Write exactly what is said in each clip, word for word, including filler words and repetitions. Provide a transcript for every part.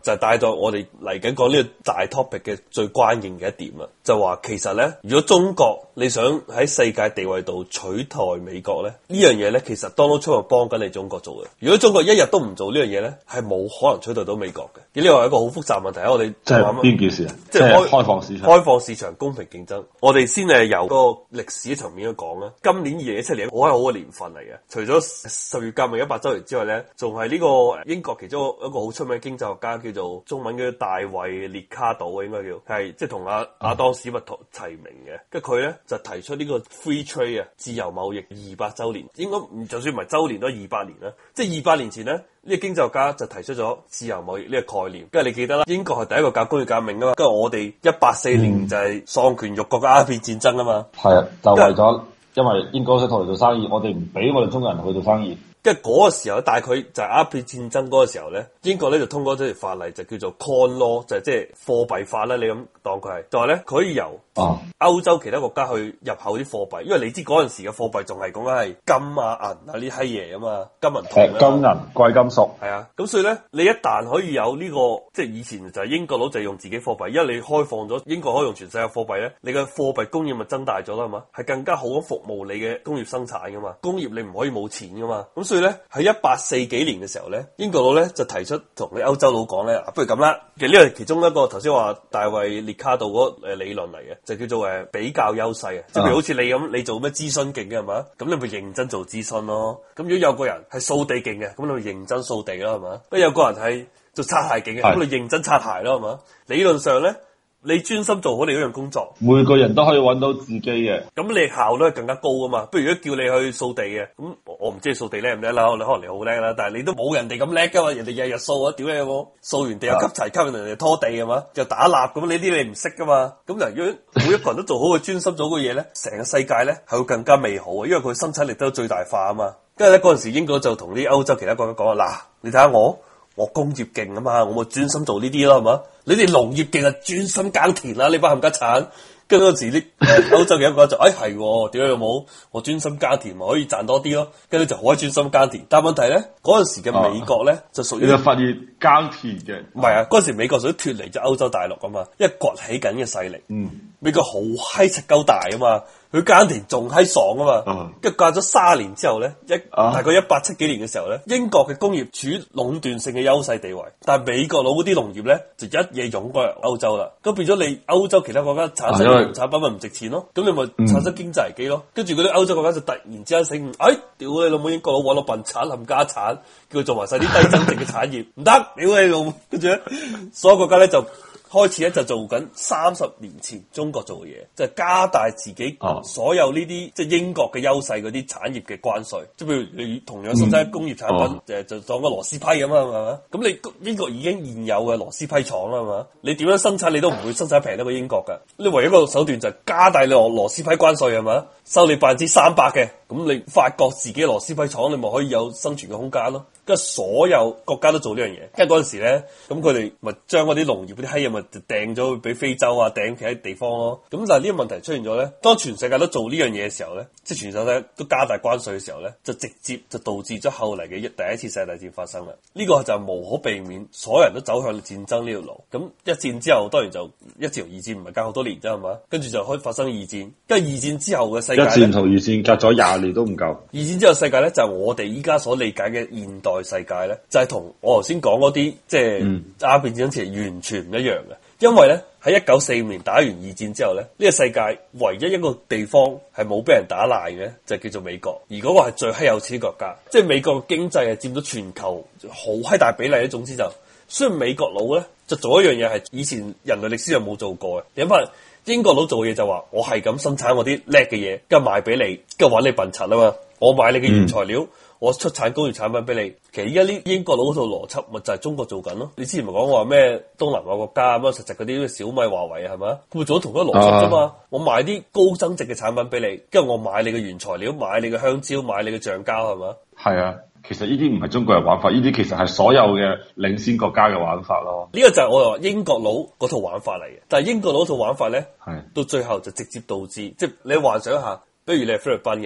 就係帶到我哋嚟緊講呢個大 topic 嘅最關鍵嘅一點啊，就話其實咧，如果中國你想喺世界地位度取代美國咧，呢樣嘢咧其實 Donald Trump 係幫緊你中國做嘅。如果中國一日都唔做呢樣嘢咧，係冇可能取代到美國嘅。呢個係一個好複雜問題，我哋即係邊件事啊？ 即係開開放市場， 開放市場，公平競爭。我哋先係由個歷史層面去講啦。今年二零一七年好係好嘅年份嚟嘅，除咗十月革命一百周年之外咧，仲係呢個英國其中一個好出名嘅經濟學家叫做中文叫大衛列卡島，應該叫係即係同阿阿當史密圖齊名嘅。跟住佢咧就提出呢個 free trade 啊，自由貿易二百周年，應該唔就算唔係周年都係二百年啦。即係二百年前咧，呢、這個經濟學家就提出咗自由貿易呢個概念。跟住你記得啦，英國係第一個搞工業革命啊嘛，跟住我哋一八四年就係喪權辱國嘅鴉片戰爭啊嘛。 係啊、嗯，就為咗因為英國想同你做生意，我哋唔俾我哋中國人去做生意。 跟住嗰個時候，大概就係鴉片戰爭嗰個時候咧，英國咧就通過咗條法例，就叫做 Coin Law，就係即係貨幣法啦。你咁當佢係，就係咧佢可以由歐洲其他國家去入口啲貨幣，因為你知嗰陣時嘅貨幣仲係講緊係金啊銀啊呢啲閪嘢啊嘛，金銀銅啊， 金銀貴金屬係啊。咁所以咧，你一旦可以有呢、這個，即係以前就係英國佬就係用自己貨幣，因為你開放咗英國可以用全世界貨幣咧，你嘅貨幣供應咪增大咗啦，係嘛？係更加好咁服務你嘅工業生產噶嘛，工業你唔可以冇錢噶嘛，咁。所以咧喺一八四幾年嘅時候咧，英國佬咧就提出同你歐洲佬講咧，不如咁啦，其實呢個係其中一個頭先話大衛列卡度嗰個誒理論嚟嘅，就叫做誒比較優勢啊，即係譬如好似你咁，你做咩諮詢勁嘅係嘛，咁你咪認真做諮詢咯。咁如果有個人係掃地勁嘅，咁你咪認真掃地咯係嘛。不過有個人係做擦鞋勁嘅，咁你認真擦鞋咯係嘛。理論上咧，你專心做好你嗰樣工作， 每個人都可以揾到自己嘅， 咁你效率係更加高噶嘛。不如如果叫你去掃地嘅，咁我唔知你掃地叻唔叻啦，你可能你好叻啦，但係你都冇人哋咁叻噶嘛，人哋日日掃啊，屌你有冇？掃完地又吸齊，吸引人哋拖地係嘛，又打蠟咁，呢啲你唔識噶嘛。咁嗱，如果每一個人都做好佢專心做好嘅嘢咧，成個世界咧係會更加美好啊，因為佢生產力都最大化啊嘛。跟住咧嗰陣時，英國就同啲歐洲其他國家講啊，嗱，你睇下我。我工業勁啊嘛，我咪專心做呢啲咯，係嘛？你哋農業勁啊，專心耕田啦，呢班冚家鏟。跟住嗰陣時啲歐洲嘅一個就，哎係，點解有冇？我專心耕田咪可以賺多啲咯。跟住就好專心耕田。但係問題咧，嗰陣時嘅美國咧、啊、就屬於， 你就發現耕田嘅， 唔係啊，嗰陣時美國屬於脫離咗歐洲大陸啊嘛，因為崛起緊嘅勢力。嗯，美國好閪柒鳩大啊嘛。佢耕田仲閪爽啊嘛，跟住隔咗卅年之後咧，一、啊、大概一八七幾年嘅時候咧，英國嘅工業處於壟斷性嘅優勢地位，但係美國佬嗰啲農業咧就一嘢湧過嚟歐洲啦，咁變咗你歐洲其他國家產生嘅農產品咪唔值錢咯，咁、啊、你咪產生經濟危機咯，跟住嗰啲歐洲國家就突然之間醒悟，哎，屌你老母英國佬揾到笨產冚家產，叫佢做埋晒啲低增值嘅產業，唔得，屌你老母，跟住咧所有國家咧就。開始咧就做緊三十年前中國做嘅嘢，就係、是、加大自己所有呢啲、哦、即係英國嘅優勢嗰啲產業嘅關稅，即係譬如你同樣生產工業產品，誒、嗯、就當個螺絲批咁啊，係嘛？咁你英國已經現有嘅螺絲批廠啦，係嘛？你點樣生產你都唔會生產平得過英國㗎。你唯一一個手段就係加大你螺螺絲批關稅係嘛？收你百分之三百嘅，咁你法國自己螺絲批廠你咪可以有生存嘅空間咯。跟住所有國家都做呢樣嘢，跟住嗰陣時咧，咁佢哋咪將嗰啲農業嗰啲閪嘢咪掟咗俾非洲啊，掟其他地方咯。咁但係呢個問題出現咗咧，當全世界都做呢樣嘢嘅時候咧，即係全世界都加大關稅嘅時候咧，就直接就導致咗後嚟嘅一第一次世界大戰發生啦。呢、這個就無可避免，所有人都走向戰爭呢條路。咁一戰之後，當然就一戰同二戰唔係隔好多年啫，係嘛？跟住就開始發生二戰，跟住二戰之後嘅世界，一戰同二戰隔咗廿年都唔夠。 二戰之後世界咧就係、是、我哋依家所理解嘅現代世界咧，就係、是、同我頭先講嗰啲即係鴉片戰爭前完全唔一樣嘅。因為咧喺一九四五年打完二戰之後咧，呢、這個世界唯一一個地方係冇俾人打爛嘅，就叫做美國。而嗰個係最閪有錢國家，即係美國嘅經濟係佔咗全球好閪大比例咧。總之就，雖然美國佬咧就做一樣嘢係以前人類歷史上冇做過嘅。你諗下，英國佬做嘢就話我係咁生產我啲叻嘅嘢，跟住賣俾你，跟住玩你笨柒啊嘛。我買你嘅原材料。嗯我出產工業產品俾你，其實依家呢英國佬嗰套邏輯咪就係中國做緊咯。你之前咪講話咩東南亞國家咁啊，實質嗰啲小米、華為係咪？佢咪做咗同一個邏輯啫嘛。啊、我賣啲高增值嘅產品俾你，跟住我買你嘅原材料，買你嘅香蕉，買你嘅橡膠係咪？係啊，其實呢啲唔係中國人玩法，呢啲其實係所有嘅領先國家嘅玩法咯。 呢個就係我話英國佬嗰套玩法嚟嘅，但係英國佬套玩法咧，係到最後就直接導致，即係你幻想一下，比如你係菲律賓嘅。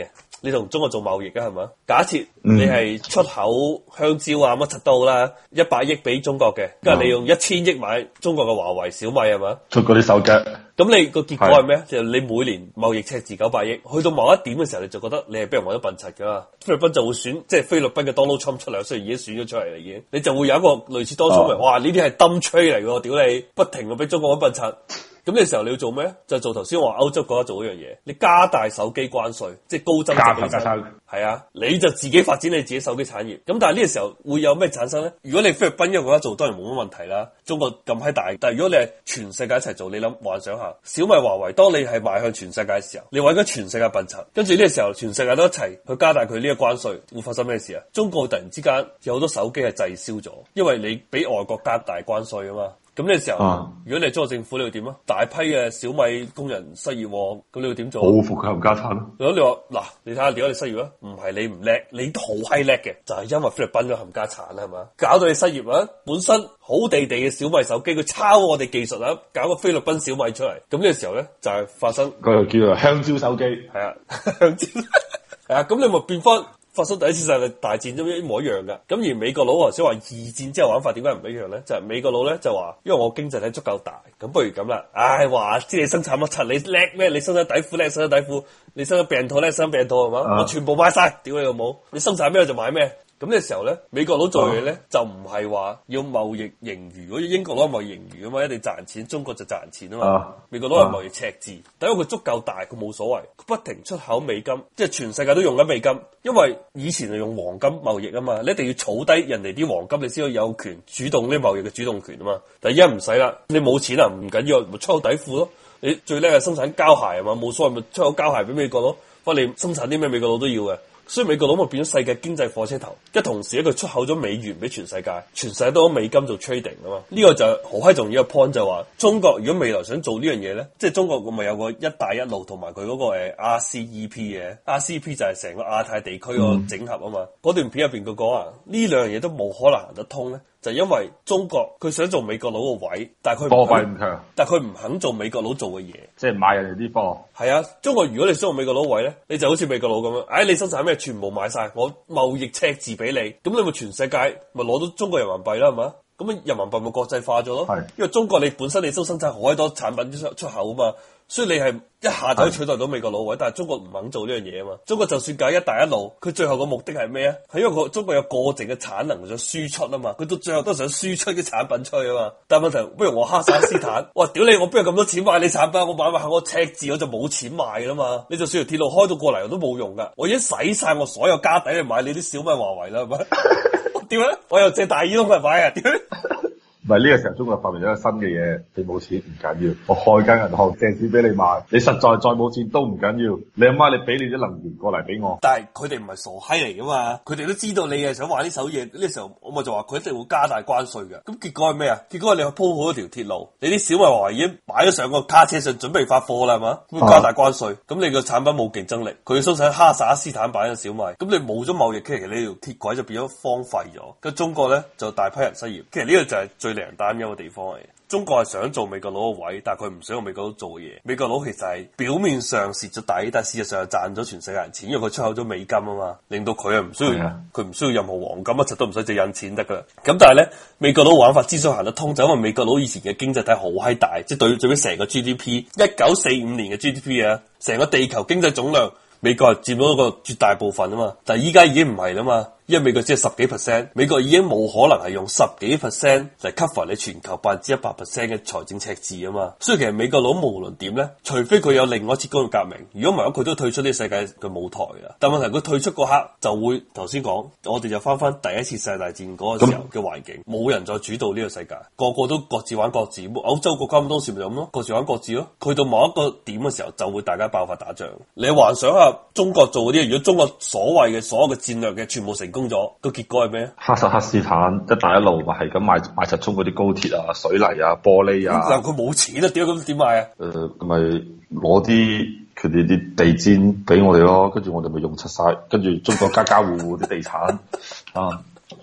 你同中國做貿易啊，係嘛？假設你係出口香蕉啊乜柒都好啦，一百億俾中國嘅，跟住你用一千億買中國嘅華為、小米係嘛？ 出嗰啲手機。 咁你個結果係咩？就係你每年貿易赤字九百億，去到某一點嘅時候，你就覺得你係俾人玩咗笨柒噶嘛？菲律賓就會選，即係菲律賓嘅 Donald Trump 出嚟，雖然已經選咗出嚟啦，已經，你就會有一個類似當初嘅，哇！呢啲係 dumb trade 嚟嘅，屌你，不停咁俾中國玩笨柒。咁呢個時候你要做咩？就做頭先話歐洲國家做一樣嘢，你加大手機關稅，即係高增值嘅產品。係啊，你就自己發展你自己手機產業。咁但係呢個時候會有咩產生咧？如果你菲律賓一個國家做，當然冇乜問題啦。中國咁閪大，但係如果你係全世界一齊做，你諗幻想下，小米、華為，當你係邁向全世界嘅時候，你揾緊全世界笨柒，跟住呢個時候全世界都一齊去加大佢呢個關稅，會發生咩事啊？中國突然之間有好多手機係滯銷咗，因為你俾外國加大關稅啊嘛。咁呢個時候，啊、如果你係中國政府，你會點啊？大批嘅小米工人失業，咁你會點做？報復佢冚家產咯。 如果你話嗱，你睇下點解你失業啊？唔係你唔叻，你都好閪叻嘅，就係、是、因為菲律賓嘅冚家產啦，係嘛？搞到你失業啊！本身好地地嘅小米手機，佢抄我哋技術啊，搞個菲律賓小米出嚟。咁呢個時候咧，就係、是、發生嗰個叫做香蕉手機， 係啊，香蕉係啊，咁你咪變翻。發生第一次世界大戰都一模一樣嘅，咁而美國佬頭先話二戰之後玩法點解唔一樣咧？就係、是、美國佬咧就話，因為我經濟體足夠大，咁不如咁啦，唉話知你生產乜柒，你叻咩？你生產底褲叻，生產底褲，你生產病套叻，生產病套係嘛？啊、我全部買晒，屌你老母！你生產咩我就買咩。咁呢個時候咧，美國佬做嘢咧、啊、就唔係話要貿易盈餘，好似英國佬貿易盈餘啊嘛，一定賺錢，中國就賺錢啊嘛。啊美國佬係貿易赤字，但因為佢足夠大，佢冇所謂，佢不停出口美金，即係全世界都用緊美金，因為以前係用黃金貿易啊嘛，你一定要儲低人哋啲黃金，你先可以有權主動呢貿易嘅主動權啊嘛。但係而家唔使啦，你冇錢啊，唔緊要，咪出口底褲咯。你最叻係生產膠鞋啊嘛，冇所謂咪出口膠鞋俾美國咯，不過你生產啲咩美國佬都要嘅。所以美國佬咪變咗世界經濟火車頭，一同時咧佢出口咗美元俾全世界，全世界都攞美金做 trading 啊嘛，呢、這個就好閪重要嘅 point 就係話，中國如果未來想做呢樣嘢咧，即係中國咪有個一帶一路同埋佢嗰個誒 R C E P 嘅 ，R C E P 就係成個亞太地區個整合啊嘛，嗰、嗯、段片入邊佢講啊，呢兩樣嘢都冇可能行得通咧。就因為中國佢想做美國佬個位，但係佢貨幣唔強，但係佢唔肯做美國佬做嘅嘢，即係買人哋啲貨。係啊，中國如果你想做美國佬位咧，你就好似美國佬咁樣，唉、哎，你生產咩全部買晒，我貿易赤字俾你，咁你咪全世界咪攞到中國人民幣啦，係嘛？咁啊人民幣咪國際化咗咯。係，因為中國你本身你都生產好多產品出出口啊嘛。所以你係一下就可以取代到美國佬位，但係中國唔肯做呢樣嘢啊嘛。中國就算搞一帶一路，佢最後個目的係咩啊？係因為個中國有過剩嘅產能想輸出啊嘛。佢到最後都想輸出啲產品出去啊嘛。但係問題，不如我哈薩斯坦，哇屌你！我邊有咁多錢買你產品？我買埋我赤字，我就冇錢賣啦嘛。你就算條鐵路開到過嚟，我都冇用噶。我已經使晒我所有家底去買你啲小米華為啦，係咪？點咧？我又借大耳窿嚟買啊？點咧？ 唔係呢個時候，中國發明咗一個新嘅嘢，你冇錢唔緊要，我開間銀行借錢俾你買，你實在再冇錢都唔緊要，你阿媽你俾你啲能源過嚟俾我。但係佢哋唔係傻閪嚟噶嘛，佢哋都知道你係想玩呢手嘢，呢、這個、時候我咪就話佢一定會加大關稅嘅。咁結果係咩啊？結果係你去鋪好一條鐵路，你啲小米華為已經擺咗上個卡車上準備發貨啦，係嘛？咁加大關稅，咁、啊、你個產品冇競爭力，佢要生產哈薩斯坦版嘅小米，咁你冇咗貿易，其實你條鐵軌就變咗荒廢咗。咁中國咧就大批人失業，其實呢個就係最令人擔憂嘅地方嚟。中國係想做美國佬個位，但係佢唔想用美國佬做嘢。美國佬其實係表面上蝕咗底，但係事實上係賺咗全世界人錢，因為佢出口咗美金啊嘛，令到佢啊唔需要佢唔、嗯、需要任何黃金，一直都唔使借印錢得噶啦。咁但係咧，美國佬玩法之所以行得通，就因為美國佬以前嘅經濟體好閪大，即係對最尾成個 G D P，一九四五年嘅 G D P 啊，成個地球經濟總量，美國係佔到一個絕大部分啊嘛。但係依家已經唔係啦嘛。因為美國只係十幾 percent， 美國已經冇可能係用十幾 percent 嚟 cover 你全球百分之一百 percent 嘅財政赤字啊嘛，所以其實美國佬無論點咧，除非佢有另外一次工業革命，如果唔係佢都退出呢個世界嘅舞台啊。但問題佢退出嗰刻就會頭先講，我哋就翻翻第一次世界大戰嗰個時候嘅環境，冇人再主導呢個世界，個個都各自玩各自。歐洲國家咁當時咪咁咯，各自玩各自咯。去到某一個點嘅時候，就會大家爆發打仗。你幻想下中國做嗰啲，如果中國所謂嘅所有嘅戰略嘅全部成功咗，個結果係咩？哈薩克斯坦一帶一路咪係咁買買實充嗰啲高鐵啊、水泥啊、玻璃啊。但佢冇錢啊，點解咁點買啊？誒、呃，咪攞啲佢哋啲地氈俾我哋咯，跟住我哋咪用出晒，跟住中國家家戶戶啲地產啊。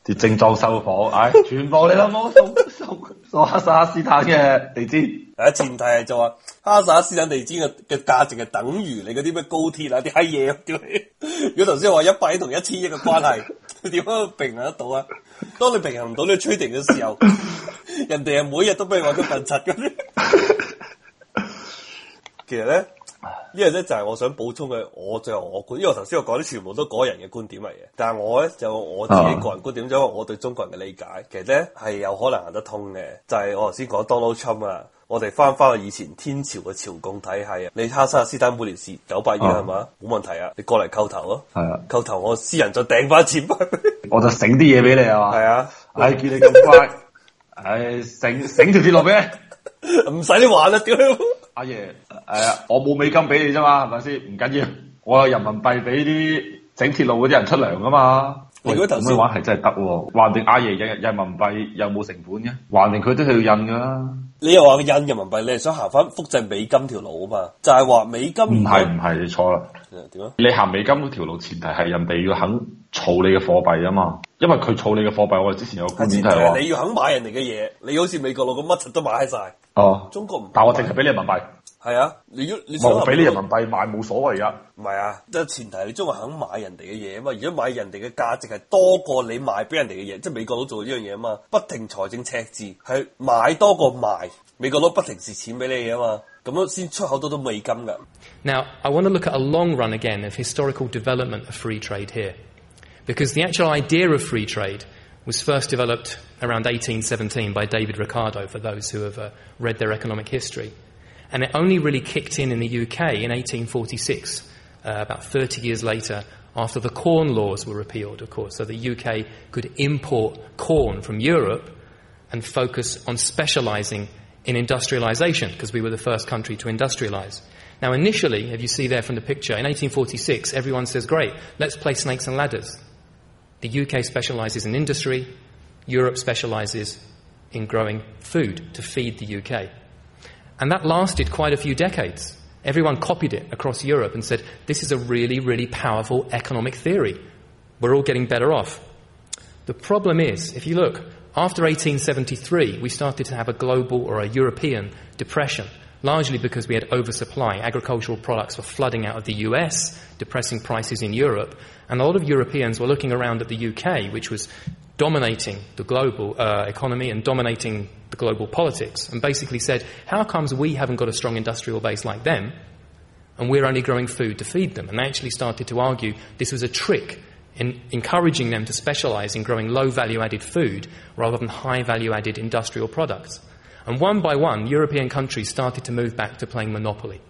啲精裝修火，唉、哎，全部你老母送送送哈薩克斯坦嘅地氈。 啊，前提係就話哈薩克斯坦地氈嘅嘅價值係等於你嗰啲咩高鐵啊啲閪嘢，屌你！如果頭先話一百億同一千億嘅關係，點樣平衡得到啊？當你平衡唔到呢個 trading 嘅時候，人哋係每日都俾你話咗笨柒嘅。其實咧。呢個咧就係我想補充嘅，我最後我觀，因為我頭先我講啲全部都個人嘅觀點嚟嘅，但係我咧就我自己個人觀點，因為我對中國人嘅理解，其實咧係有可能行得通嘅。就係、是、我頭先講 Donald Trump 啊，我哋翻翻去以前天朝嘅朝貢體系啊，你哈薩克斯坦每年蝕九百億係嘛，冇問題啊，你過嚟叩頭咯，係啊，叩頭我私人再掟翻錢翻， 我就醒啲嘢俾你係嘛，係啊，唉見你咁乖，唉醒醒條鐵路俾你，唔使你玩啦，屌！阿爺，誒、啊，我冇美金俾你啫嘛，係咪先？唔緊要，我有人民幣俾啲整鐵路嗰啲人出糧噶嘛。如果頭先玩係真係得喎，橫掂阿爺印人民幣又冇成本嘅，橫掂佢都係要印噶啦。你又話印人民幣，你係想行翻複製美金條路啊嘛？就係、是、話美金唔係唔係，你錯啦。點啊？你行美金嗰條路，前提係人哋要肯儲你嘅貨幣啊嘛。因為佢儲你嘅貨幣，我哋之前有個觀點係話，你要肯買人哋嘅嘢，你好似美國佬咁乜柒都買晒。哦，中國唔，但我淨係俾你人民幣。係啊，你如果你想俾你人民幣買冇所謂噶。唔係啊，即係前提你中國肯買人哋嘅嘢啊嘛。如果買人哋嘅價值係多過你賣俾人哋嘅嘢，即係美國佬做呢樣嘢啊嘛，不停財政赤字，係買多過賣，美國佬不停蝕錢俾你啊嘛，咁樣先出口到到美金噶。 Now, I want to look at a long run again of historical development of free trade here, because the actual idea of free trade was first developed around eighteen seventeen by David Ricardo, for those who have uh, read their economic history. And it only really kicked in in the U K in eighteen forty-six, uh, about thirty years later, after the Corn Laws were repealed, of course. So the U K could import corn from Europe and focus on specialising in industrialisation, because we were the first country to industrialise. Now, initially, if you see there from the picture, in eighteen forty-six, everyone says, great, let's play snakes and ladders. The U K specialises in industry, Europe specialises in growing food to feed the U K. And that lasted quite a few decades. Everyone copied it across Europe and said, this is a really, really powerful economic theory. We're all getting better off. The problem is, if you look, after eighteen seventy-three, we started to have a global or a European depression, largely because we had oversupply. Agricultural products were flooding out of the U S, depressing prices in Europe. And a lot of Europeans were looking around at the U K, which was dominating the global uh, economy and dominating the global politics, and basically said, how comes we haven't got a strong industrial base like them, and we're only growing food to feed them? And they actually started to argue this was a trick in encouraging them to specialise in growing low value-added food rather than high value-added industrial products. And one by one, European countries started to move back to playing monopoly,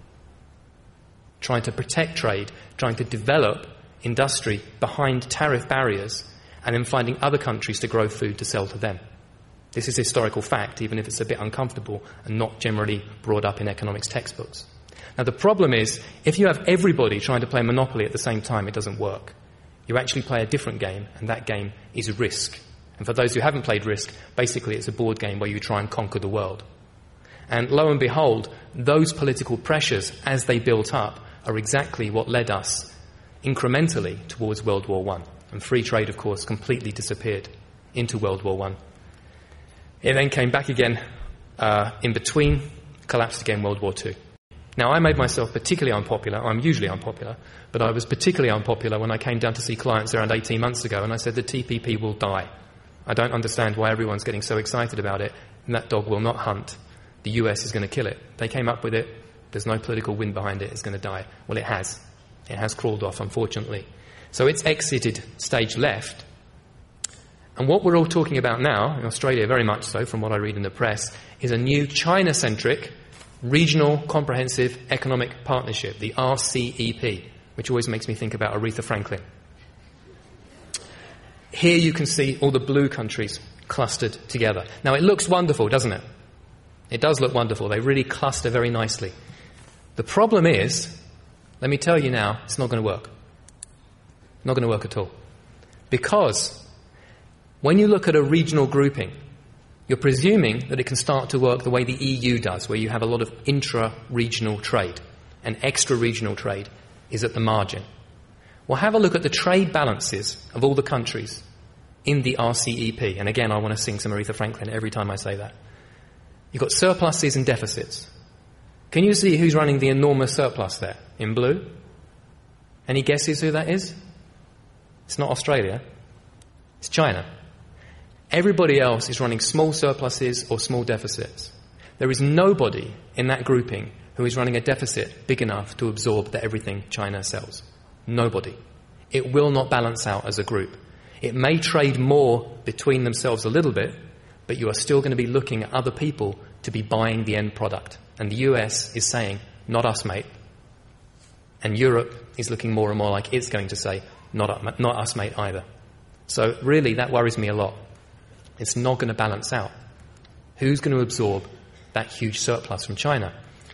trying to protect trade, trying to develop industry behind tariff barriers, and then finding other countries to grow food to sell to them. This is historical fact, even if it's a bit uncomfortable and not generally brought up in economics textbooks. Now, the problem is, if you have everybody trying to play Monopoly at the same time, it doesn't work. You actually play a different game, and that game is Risk. And for those who haven't played Risk, basically it's a board game where you try and conquer the world. And lo and behold, those political pressures, as they built up, are exactly what led us incrementally towards World War One. And free trade, of course, completely disappeared into World War One. It then came back again uh, in between, collapsed again World War Two. Now, I made myself particularly unpopular. I'm usually unpopular, but I was particularly unpopular when I came down to see clients around eighteen months ago, and I said the T P P will die. I don't understand why everyone's getting so excited about it, and that dog will not hunt. The U S is going to kill it. They came up with it. There's no political wind behind it. It's going to die. Well, it has. It has crawled off, unfortunately. So it's exited stage left. And what we're all talking about now, in Australia very much so, from what I read in the press, is a new China-centric Regional Comprehensive Economic Partnership, the R C E P, which always makes me think about Aretha Franklin. Here you can see all the blue countries clustered together. Now, it looks wonderful, doesn't it? It does look wonderful. They really cluster very nicely. The problem is, let me tell you now, it's not going to work. Not going to work at all. Because when you look at a regional grouping, you're presuming that it can start to work the way the E U does, where you have a lot of intra-regional trade, and extra-regional trade is at the margin. Well, have a look at the trade balances of all the countries in the R C E P. And again, I want to sing some Aretha Franklin every time I say that. You've got surpluses and deficits. Can you see who's running the enormous surplus there in blue? Any guesses who that is? It's not Australia. It's China. Everybody else is running small surpluses or small deficits. There is nobody in that grouping who is running a deficit big enough to absorb the everything China sells. Nobody. It will not balance out as a group. It may trade more between themselves a little bit, but you are still going to be looking at other people to be buying the end product. And the U S is saying, not us, mate. And Europe is looking more and more like it's going to say, not, not us, mate, either. So really, that worries me a lot. It's not going to balance out. Who's going to absorb that huge surplus from China?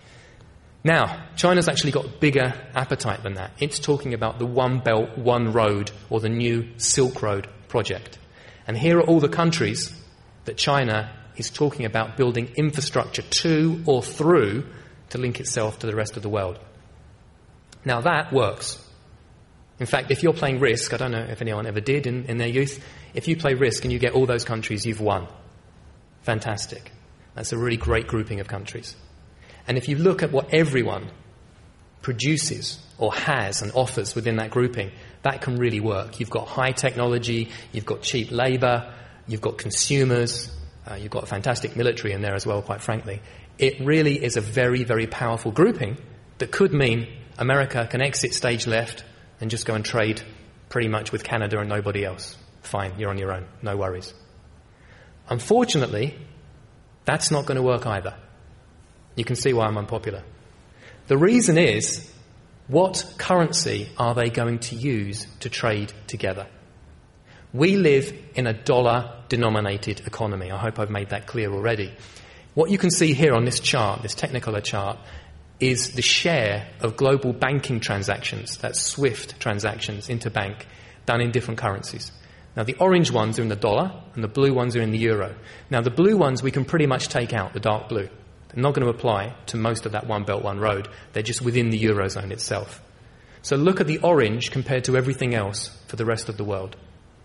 Now, China's actually got bigger appetite than that. It's talking about the One Belt, One Road, or the new Silk Road project. And here are all the countries that China is talking about building infrastructure to or through to link itself to the rest of the world. Now, that works. In fact, if you're playing Risk, I don't know if anyone ever did in, in their youth, if you play Risk and you get all those countries, you've won. Fantastic. That's a really great grouping of countries. And if you look at what everyone produces or has and offers within that grouping, that can really work. You've got high technology, you've got cheap labour, you've got consumers, uh, you've got a fantastic military in there as well, quite frankly. It really is a very, very powerful grouping that could mean America can exit stage left and just go and trade pretty much with Canada and nobody else. Fine, you're on your own, no worries. Unfortunately, that's not going to work either. You can see why I'm unpopular. The reason is, what currency are they going to use to trade together? We live in a dollar-denominated economy. I hope I've made that clear already. What you can see here on this chart, this Technicolor chart, is the share of global banking transactions, that's SWIFT transactions, interbank, done in different currencies. Now, the orange ones are in the dollar, and the blue ones are in the euro. Now, the blue ones we can pretty much take out, the dark blue. They're not going to apply to most of that One Belt, One Road. They're just within the Eurozone itself. So look at the orange compared to everything else for the rest of the world.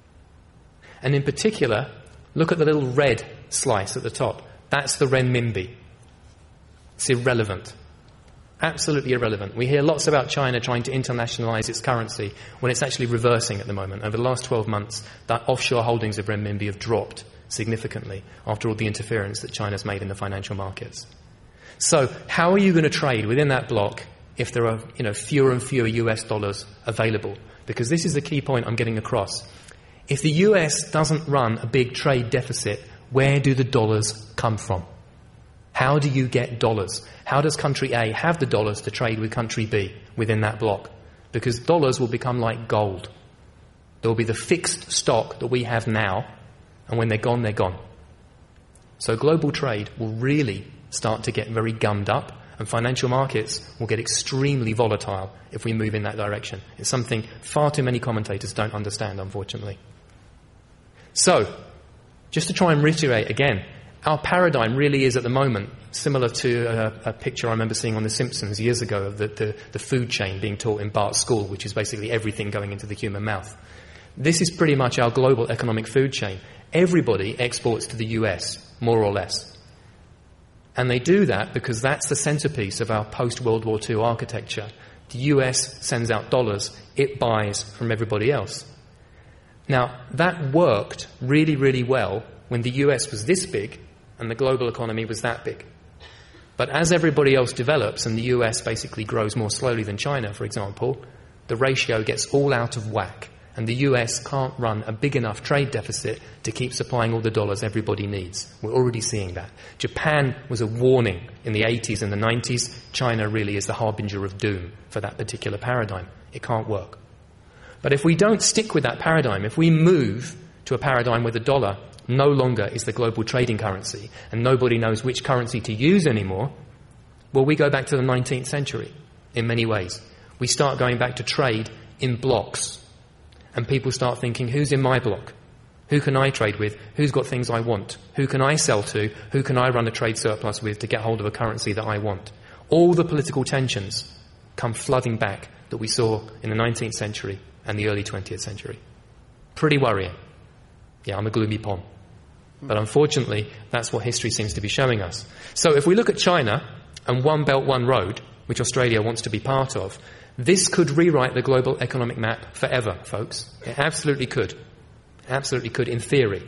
And in particular, look at the little red slice at the top. That's the renminbi. It's irrelevant. Absolutely irrelevant. We hear lots about China trying to internationalize its currency when it's actually reversing at the moment. Over the last twelve months, that offshore holdings of renminbi have dropped significantly after all the interference that China's made in the financial markets. So how are you going to trade within that block if there are, you know, fewer and fewer U S dollars available? Because this is the key point I'm getting across. If the U S doesn't run a big trade deficit, where do the dollars come from? How do you get dollars? How does country A have the dollars to trade with country B within that block? Because dollars will become like gold. There will be the fixed stock that we have now, and when they're gone, they're gone. So global trade will really start to get very gummed up, and financial markets will get extremely volatile if we move in that direction. It's something far too many commentators don't understand, unfortunately. So, just to try and reiterate again, our paradigm really is at the moment similar to a, a picture I remember seeing on The Simpsons years ago of the, the, the food chain being taught in Bart's school, which is basically everything going into the human mouth. This is pretty much our global economic food chain. Everybody exports to the U S, more or less. And they do that because that's the centerpiece of our post-World War Two architecture. The U S sends out dollars, it buys from everybody else. Now, that worked really, really well when the U S was this big and the global economy was that big. But as everybody else develops and the U S basically grows more slowly than China, for example, the ratio gets all out of whack. And the U S can't run a big enough trade deficit to keep supplying all the dollars everybody needs. We're already seeing that. Japan was a warning in the eighties and the nineties. China really is the harbinger of doom for that particular paradigm. It can't work. But if we don't stick with that paradigm, if we move to a paradigm where the dollar no longer is the global trading currency and nobody knows which currency to use anymore, well, we go back to the nineteenth century in many ways. We start going back to trade in blocks. And people start thinking, who's in my block? Who can I trade with? Who's got things I want? Who can I sell to? Who can I run a trade surplus with to get hold of a currency that I want? All the political tensions come flooding back that we saw in the nineteenth century and the early twentieth century. Pretty worrying. Yeah, I'm a gloomy pom. But unfortunately, that's what history seems to be showing us. So if we look at China and One Belt, One Road, which Australia wants to be part of, this could rewrite the global economic map forever, folks. It absolutely could. Absolutely could, in theory.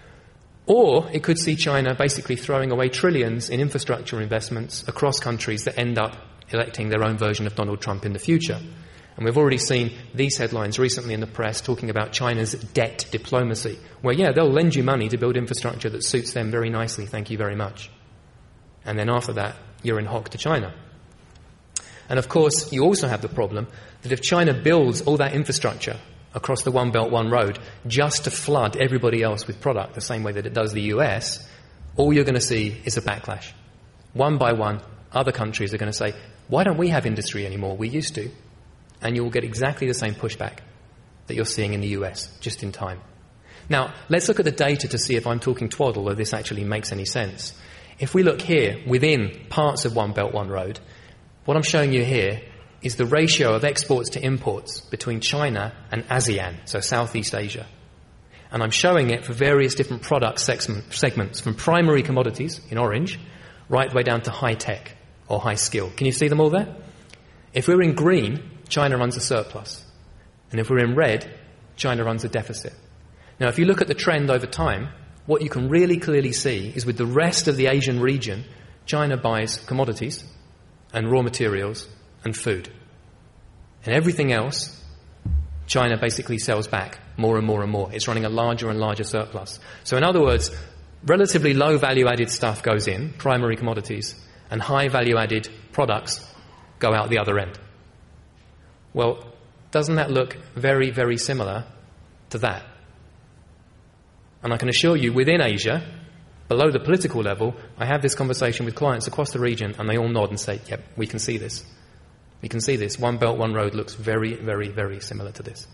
Or it could see China basically throwing away trillions in infrastructure investments across countries that end up electing their own version of Donald Trump in the future. And we've already seen these headlines recently in the press talking about China's debt diplomacy, where, yeah, they'll lend you money to build infrastructure that suits them very nicely, thank you very much. And then after that, you're in hock to China. And of course, you also have the problem that if China builds all that infrastructure across the One Belt, One Road just to flood everybody else with product the same way that it does the U S, all you're going to see is a backlash. One by one, other countries are going to say, why don't we have industry anymore? We used to. And you will get exactly the same pushback that you're seeing in the U S, just in time. Now, let's look at the data to see if I'm talking twaddle or this actually makes any sense. If we look here, within parts of One Belt, One Road, what I'm showing you here is the ratio of exports to imports between China and ASEAN, so Southeast Asia. And I'm showing it for various different product segments, from primary commodities, in orange, right the way down to high-tech or high-skill. Can you see them all there? If we're in green, China runs a surplus. And if we're in red, China runs a deficit. Now, if you look at the trend over time, what you can really clearly see is with the rest of the Asian region, China buys commodities and raw materials and food. And everything else, China basically sells back more and more and more. It's running a larger and larger surplus. So in other words, relatively low value-added stuff goes in, primary commodities, and high value-added products go out the other end. Well, doesn't that look very, very similar to that? And I can assure you, within Asia, below the political level, I have this conversation with clients across the region, and they all nod and say, yep, we can see this. We can see this. One Belt, One Road looks very, very, very similar to this.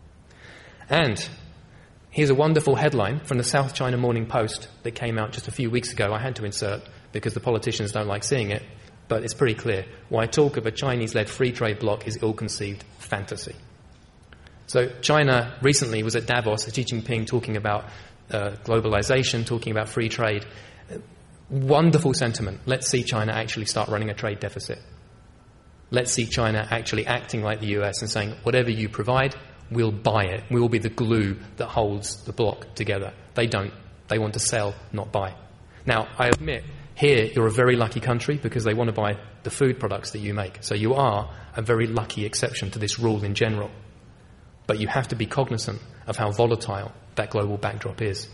And here's a wonderful headline from the South China Morning Post that came out just a few weeks ago. I had to insert because the politicians don't like seeing it, but it's pretty clear. Why talk of a Chinese-led free trade bloc is ill-conceived fantasy. So China recently was at Davos, Xi Jinping talking about uh, globalization, talking about free trade. Wonderful sentiment. Let's see China actually start running a trade deficit. Let's see China actually acting like the U S and saying, whatever you provide, we'll buy it. We'll be the glue that holds the bloc together. They don't. They want to sell, not buy. Now, I admit, here you're a very lucky country because they want to buy the food products that you make. So you are a very lucky exception to this rule in general. But you have to be cognizant of how volatile that global backdrop is.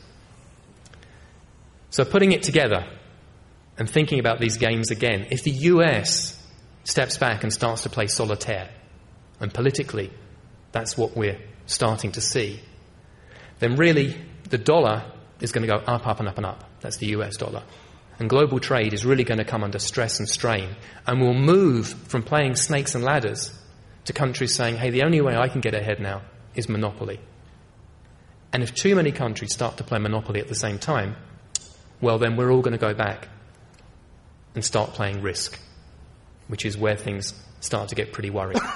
So putting it together and thinking about these games again, if the U S steps back and starts to play solitaire, and politically that's what we're starting to see, then really the dollar is going to go up, up and up and up. That's the U S dollar. And global trade is really going to come under stress and strain, and we'll move from playing snakes and ladders to countries saying, hey, the only way I can get ahead now is monopoly. And if too many countries start to play monopoly at the same time, well, then we're all going to go back and start playing risk, which is where things start to get pretty worrying.